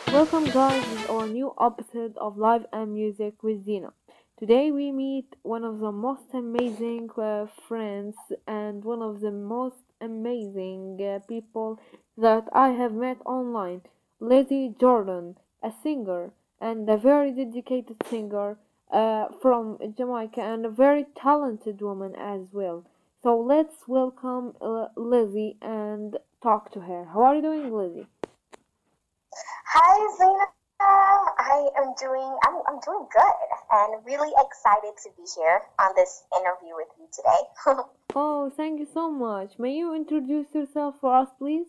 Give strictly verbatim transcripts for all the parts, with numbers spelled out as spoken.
Welcome, guys, with our new episode of Live and Music with Zina. Today, we meet one of the most amazing uh, friends and one of the most amazing uh, people that I have met online, Lizzie Jordan, a singer and a very dedicated singer uh, from Jamaica and a very talented woman as well. So, let's welcome uh, Lizzie and talk to her. How are you doing, Lizzie? Hi, Zena. I am doing. I'm, I'm doing good, and really excited to be here on this interview with you today. Oh, thank you so much. May you introduce yourself for us, please?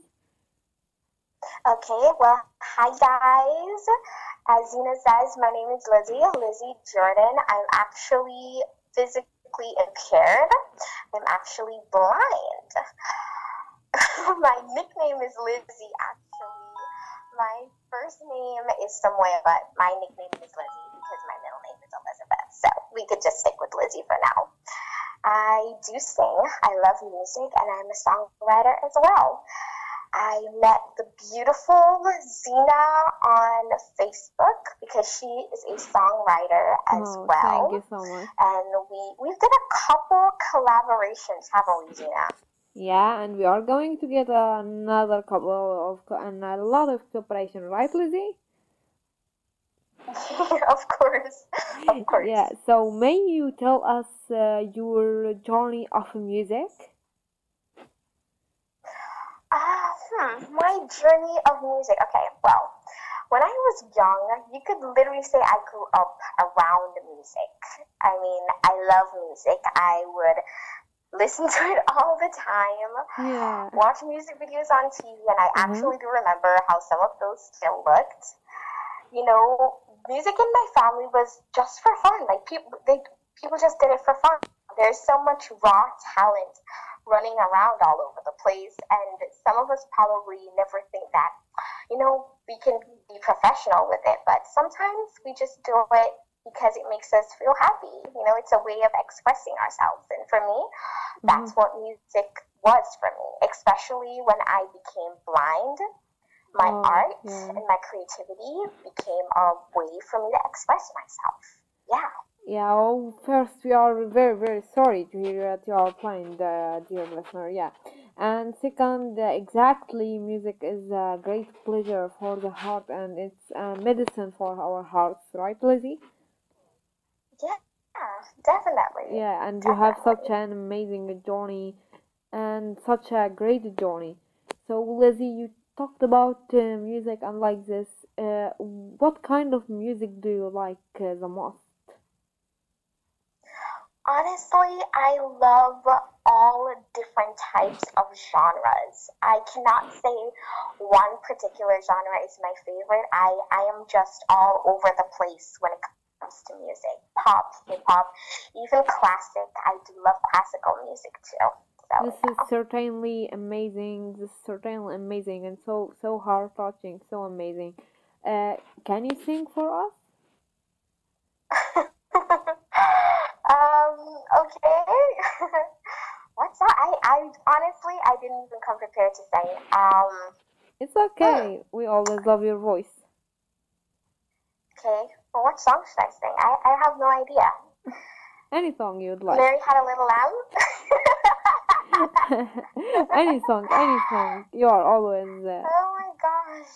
Okay. Well, hi guys. As Zena says, my name is Lizzie. Lizzie Jordan. I'm actually physically impaired. I'm actually blind. My nickname is Lizzie. Actually, my first name is Samoya, but my nickname is Lizzie because my middle name is Elizabeth. So we could just stick with Lizzie for now. I do sing. I love music, and I'm a songwriter as well. I met the beautiful Zena on Facebook because she is a songwriter as Oh, thank you well. so much. And we we did a couple collaborations, haven't we, Zena? Yeah, and we are going to get another couple of co- and a lot of cooperation, right, Lizzie? Of course, of Yeah. course. So, may you tell us uh, your journey of music? Ah, hmm, my journey of music. Okay, well, when I was young, you could literally say I grew up around music. I mean, I love music. I would listen to it all the time, Yeah. watch music videos on T V, and I Uh-huh. actually do remember how some of those still looked. You know, music in my family was just for fun. Like people, they people just did it for fun. There's so much raw talent running around all over the place, and some of us probably never think that, you know, we can be professional with it. But sometimes we just do it because it makes us feel happy. You know, it's a way of expressing ourselves. And for me, Uh-huh. that's what music was for me, especially when I became blind. My Oh, art yeah. and my creativity became a way for me to express myself. Yeah. Yeah, well, first, we are very, very sorry to hear that you are blind, uh, dear listener. Yeah. And second, uh, exactly, music is a great pleasure for the heart and it's a medicine for our hearts, right, Lizzie? Yeah, definitely. Yeah, and you have such Definitely. an amazing journey and such a great journey. So, Lizzie, you talked about uh, music and like this. Uh, what kind of music do you like uh, the most? Honestly, I love all different types of genres. I cannot say one particular genre is my favorite. I, I am just all over the place when it comes to music. Pop, hip hop, even classic. I do love classical music too. So This is yeah. certainly amazing. This is certainly amazing and so so heart touching, so amazing. Uh, can you sing for us? um, okay. What's that? I, I honestly I didn't even come prepared to say. Um, It's hmm, okay. We always love your voice. okay. Well, what song should I sing? I, I have no idea. Any song you'd Mary like. had a little lamb. Any song, any song. You are always. Uh, Oh my gosh.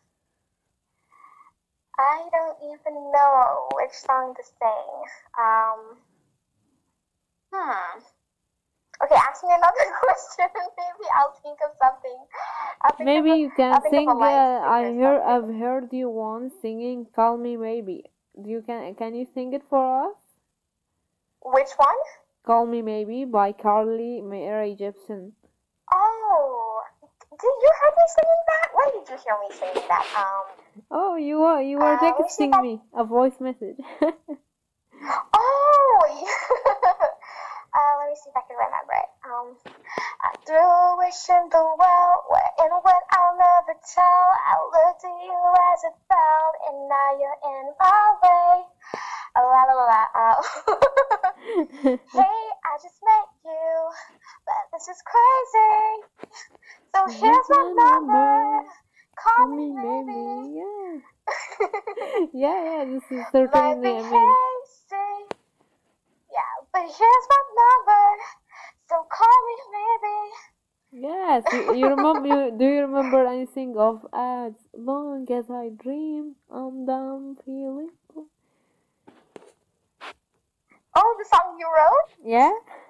I don't even know which song to sing. Um, hmm. Okay, ask me another question. Maybe I'll think of something. I'll think of maybe a. you can I'll think of a sing. Uh, line to sing I or hear. something. I've heard you once singing "Call Me Maybe." Do you can? Can you sing it for us? Which one? "Call Me Maybe" by Carly Rae Jepsen. Oh, did you heard me singing that? When did you hear me singing that? Um, Oh, you were you were uh, let me see if texting I. me a voice message. Oh, uh, let me see if I can remember it. Um, I threw a wish in the well, where and when I'll never tell. I looked at you as it fell, and now you're in my way. La la la. la. Hey, I just met you, but this is crazy. So Here's here's my my number. number. Call Call me me maybe. maybe. Yeah, yeah, this is My certainly amazing. behavior, yeah, but here's my number, so call me maybe. Yes, you, you remember, you, do you remember anything of as long as I dream, I'm done feeling? Oh, the song you wrote? Yeah,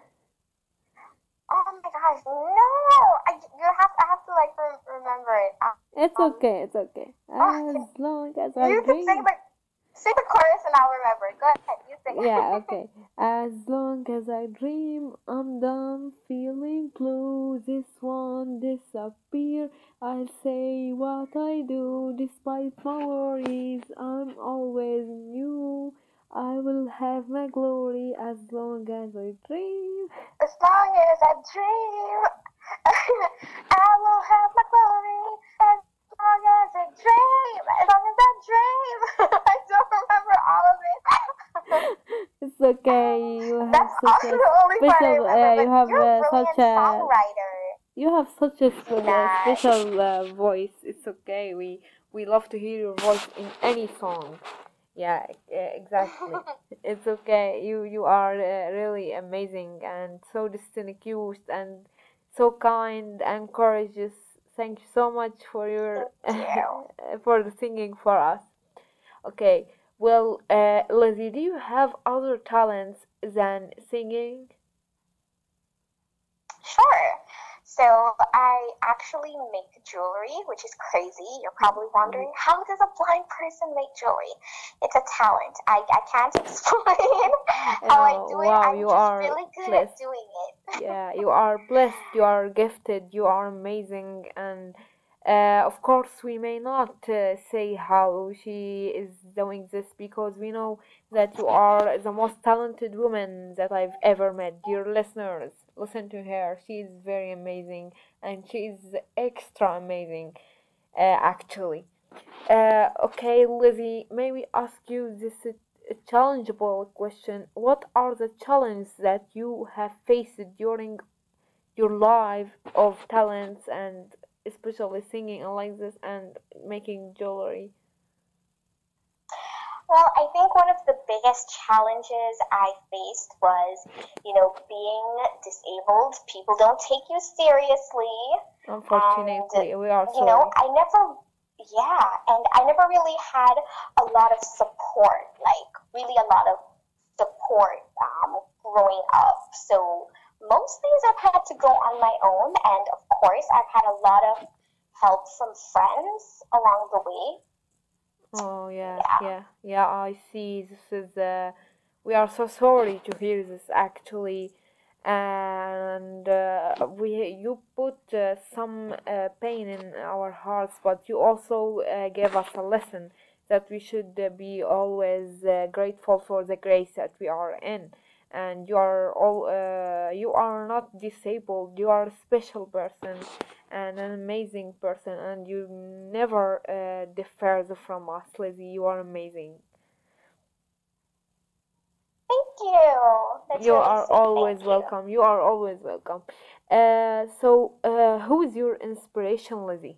Oh my gosh, no! I you have I have to like re- remember it. it's Um, okay, it's okay. oh, As can, long as I you can sing dream. the sing the chorus and I'll remember. Go ahead, you sing Yeah, it. okay. As long as I dream, I'm done feeling blue. This won't disappear. I'll say what I do despite my worries. I'm always new. I will have my glory as long as I dream. As long as I dream, I will have my glory. As long as I dream, as long as I dream. I don't remember all of it. It's okay. You have That's such also a the only part I special. remember. Uh, you But have you're a uh, such brilliant a songwriter. You have such a sp- uh, Nice. special uh, voice. It's okay. We we love to hear your voice in any song. Yeah, e- exactly. It's okay. You you are uh, really amazing and so distinguished and so kind and courageous. Thank you so much for your Thank you. for the singing for us. Okay. Well, uh, Lizzie, do you have other talents than singing? Sure. So I actually make jewelry, which is crazy. You're probably wondering, how does a blind person make jewelry? It's a talent. I, I can't explain how I Uh, do it. wow, I'm you just are really good at blessed. doing it. Yeah, you are blessed, you are gifted, you are amazing, and uh, of course, we may not uh, say how she is doing this because we know that you are the most talented woman that I've ever met. Dear listeners, listen to her. She is very amazing, and she is extra amazing, uh, actually. Uh, okay, Lizzie, may we ask you this uh, challengeable question? What are the challenges that you have faced during your life of talents and especially singing and like this and making jewelry? Well, I think one of the biggest challenges I faced was, you know, being disabled. People don't take you seriously. And, Unfortunately, we are you know, sorry. I never, yeah, and I never really had a lot of support, like, really a lot of support um, growing up. So most things I've had to go on my own. And of course, I've had a lot of help from friends along the way. Oh yeah, Yeah. yeah, yeah. I see. This is. Uh, we are so sorry to hear this actually, and uh, we you put uh, some uh, pain in our hearts, but you also uh, gave us a lesson that we should uh, be always uh, grateful for the grace that we are in. And you are all. Uh, you are not disabled. You are a special person and an amazing person, and you never uh, differ from us, Lizzie. You are amazing. Thank you. That's You really are sweet. always Thank you. welcome. You are always welcome. Uh, so, uh, who is your inspiration, Lizzie?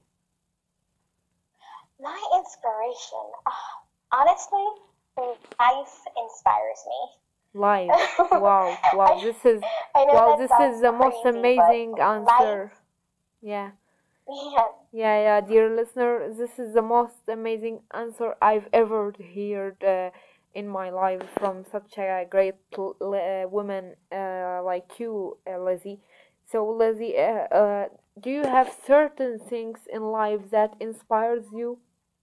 My inspiration, ah, honestly, life inspires me. Live. Wow, wow. I This is, I know wow. that This is sounds the most crazy, but amazing life, answer. Yeah. yeah, Yeah, yeah, dear listener, this is the most amazing answer I've ever heard uh, in my life from such a great l- uh, woman uh, like you, uh, Lizzie. So, Lizzie, uh, uh, do you have certain things in life that inspires you?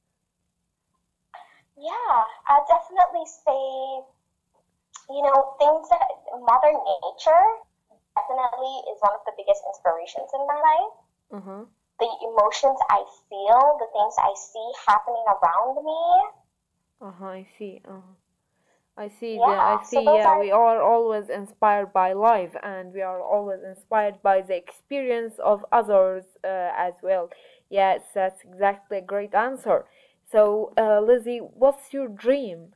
yeah, I'd definitely say, you know, things that Mother Nature definitely is one of the biggest inspirations in my life. Uh-huh. The emotions I feel, the things I see happening around me. Uh-huh, I see. Uh-huh. I see the I Yeah, so see those yeah, are, we are always inspired by life and we are always inspired by the experience of others uh, as well. Yes, that's exactly a great answer. So, uh, Lizzie, what's your dream?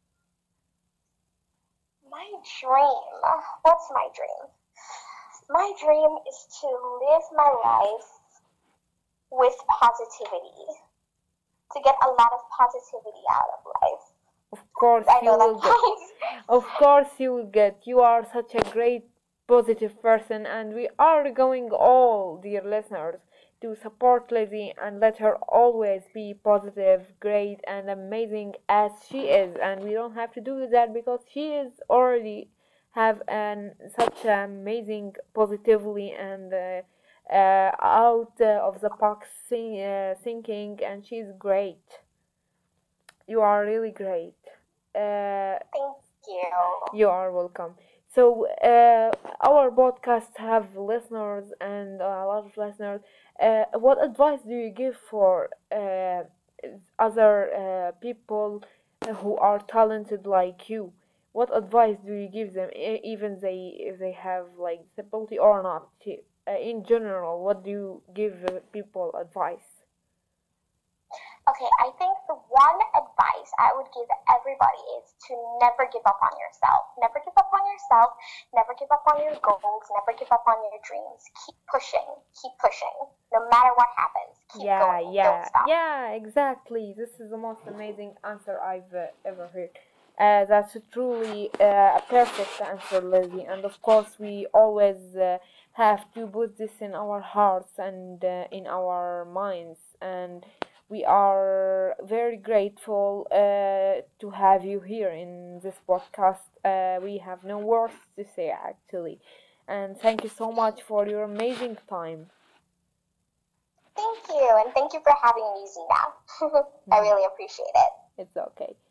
my dream. What's my dream? My dream is to live my life with positivity. to get a lot of positivity out of life. Of course I you know that will get. sounds. Of course you will get. You are such a great positive person, and we are going all, dear listeners, to support Lizzie and let her always be positive, great, and amazing as she is. And we don't have to do that because she is already have an such amazing positively and uh, uh, out uh, of the box thi- uh, thinking, and she's great. You are really great. Uh, Thank you. you are welcome. So, uh, our podcast have listeners and a lot of listeners. Uh, what advice do you give for uh, other uh, people who are talented like you? What advice do you give them, e- even they if they have like disability or not? Uh, in general, what do you give uh, people advice? Okay, I think the one advice I would give everybody is to never give up on yourself. Never give up on yourself. Never give up on your goals. Never give up on your dreams. Keep pushing. Keep pushing. No matter what happens, keep Yeah, going. Don't yeah, stop. yeah, exactly. This is the most amazing answer I've uh, ever heard. Uh, that's truly uh, a perfect answer, Lizzie. And of course, we always uh, have to put this in our hearts and uh, in our minds. And we are very grateful uh, to have you here in this podcast. Uh, we have no words to say, actually. And thank you so much for your amazing time. Thank you, and thank you for having me, Zena. I really appreciate it. It's okay.